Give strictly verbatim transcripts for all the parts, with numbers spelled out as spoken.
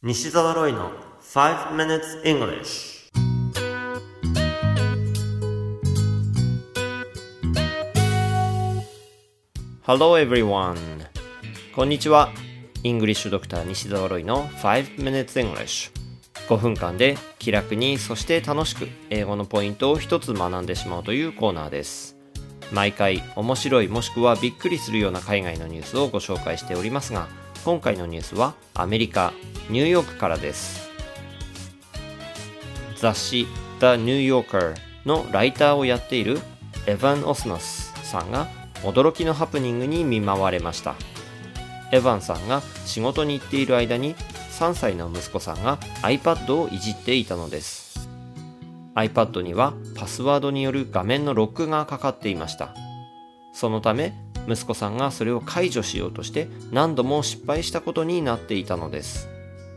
西澤ロイの five minutes English。 Hello everyone。 こんにちは。イングリッシュドクター西澤ロイの five minutes English。 ごふんかんで気楽にそして楽しく英語のポイントを一つ学んでしまうというコーナーです。毎回面白いもしくはびっくりするような海外のニュースをご紹介しておりますが、今回のニュースはアメリカニューヨークからです。雑誌 The New Yorker のライターをやっているエヴァン・オスノスさんが驚きのハプニングに見舞われました。エヴァンさんが仕事に行っている間にさんさいの息子さんが iPad をいじっていたのです。 iPad にはパスワードによる画面のロックがかかっていました。そのため息子さんがそれを解除しようとして何度も失敗したことになっていたのです。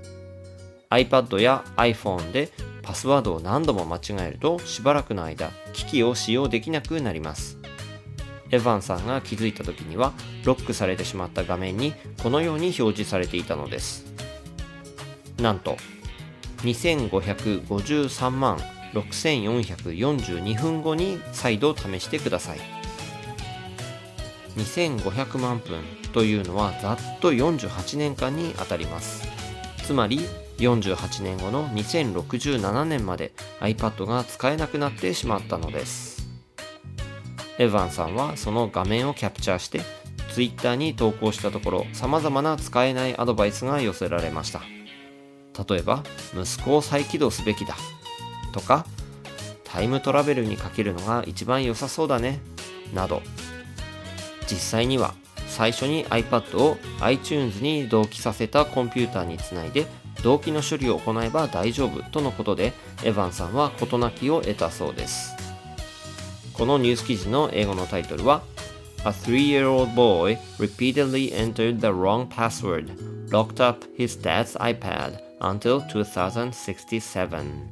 iPad や iPhone でパスワードを何度も間違えるとしばらくの間機器を使用できなくなります。エヴァンさんが気づいた時にはロックされてしまった画面にこのように表示されていたのです。なんとにせんごひゃくごじゅうさんまんろくせんよんひゃくよんじゅうにふんごに再度試してください。にせんごひゃくまんぷんというのはざっとよんじゅうはちねんかんにあたります。つまりよんじゅうはちねんごのにせんろくじゅうななねんまで iPad が使えなくなってしまったのです。エヴァンさんはその画面をキャプチャーして Twitter に投稿したところ、様々な使えないアドバイスが寄せられました。例えば息子を再起動すべきだとか、タイムトラベルにかけるのが一番良さそうだねなど、実際には最初に iPad を iTunes に同期させたコンピューターにつないで同期の処理を行えば大丈夫とのことで、エヴァンさんは事なきを得たそうです。このニュース記事の英語のタイトルは A three-year-old boy repeatedly entered the wrong password, locked up his dad's iPad until two thousand sixty-seven.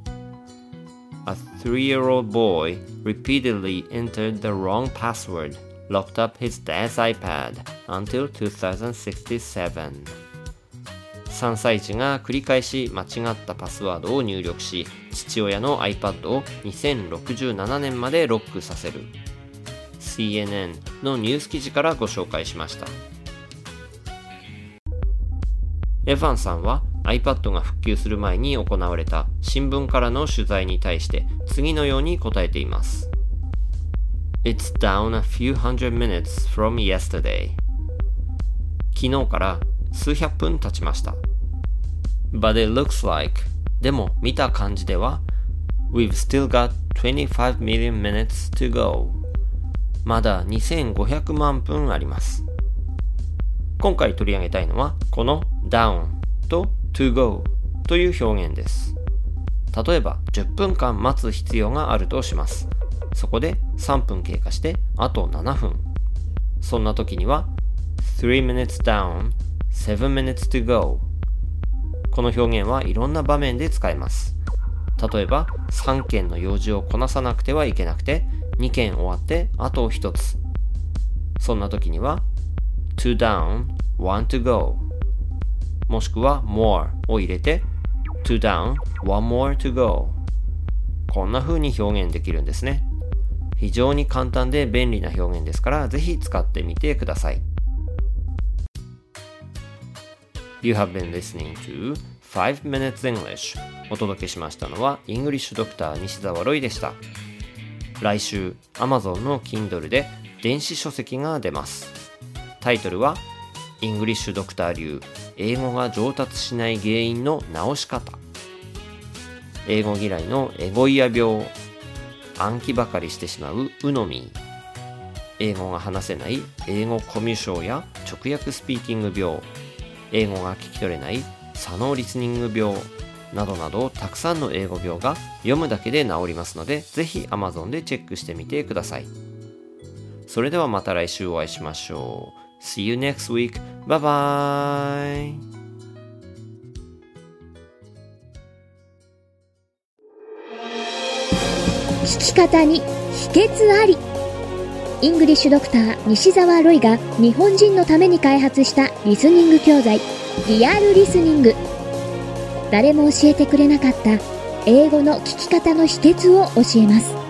A three-year-old boy repeatedly entered the wrong password, locked up his dad's iPad until two thousand sixty-seven. さんさい児が繰り返し間違ったパスワードを入力し、父親の iPad をにせんろくじゅうななねんまでロックさせる。 シーエヌエヌ のニュース記事からご紹介しました。エヴァンさんは iPad が復旧する前に行われた新聞からの取材に対して次のように答えています。It's down a few hundred minutes from yesterday. 昨日から数百分経ちました。But it looks like, でも見た感じでは We've still got twenty-five million minutes to go. まだにせんごひゃくまんぷんあります。今回取り上げたいのはこの down と to go という表現です。例えばじゅっぷんかん待つ必要があるとします。そこでさんぷん経過してあとななふん。そんな時には three minutes down, seven minutes to go。 この表現はいろんな場面で使えます。例えばさんけんの用事をこなさなくてはいけなくてにけん終わってあとひとつ。そんな時には two down, one to go。 もしくは more を入れて two down, one more to go。 こんな風に表現できるんですね。非常に簡単で便利な表現ですから、ぜひ使ってみてください。You have been listening to five minutes English。 お届けしましたのはイングリッシュドクター西澤ロイでした。来週 Amazon の Kindle で電子書籍が出ます。タイトルはイングリッシュドクター流英語が上達しない原因の直し方。英語嫌いのエゴイヤ病、暗記ばかりしてしまうウノミー、英語が話せない英語コミュ障や直訳スピーキング病、英語が聞き取れない左脳リスニング病などなど、たくさんの英語病が読むだけで治りますので、ぜひ Amazon でチェックしてみてください。それではまた来週お会いしましょう。See you next week. Bye bye. 聞き方に秘訣あり。イングリッシュドクター西澤ロイが日本人のために開発したリスニング教材リアルリスニング。 誰も教えてくれなかった英語の聞き方の秘訣を教えます。